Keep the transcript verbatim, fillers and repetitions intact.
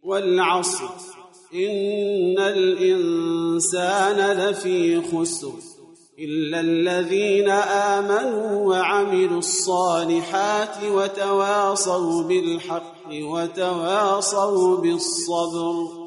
والعصر إن الإنسان لفي خسر إلا الذين آمنوا وعملوا الصالحات وتواصوا بالحق وتواصوا بالصبر.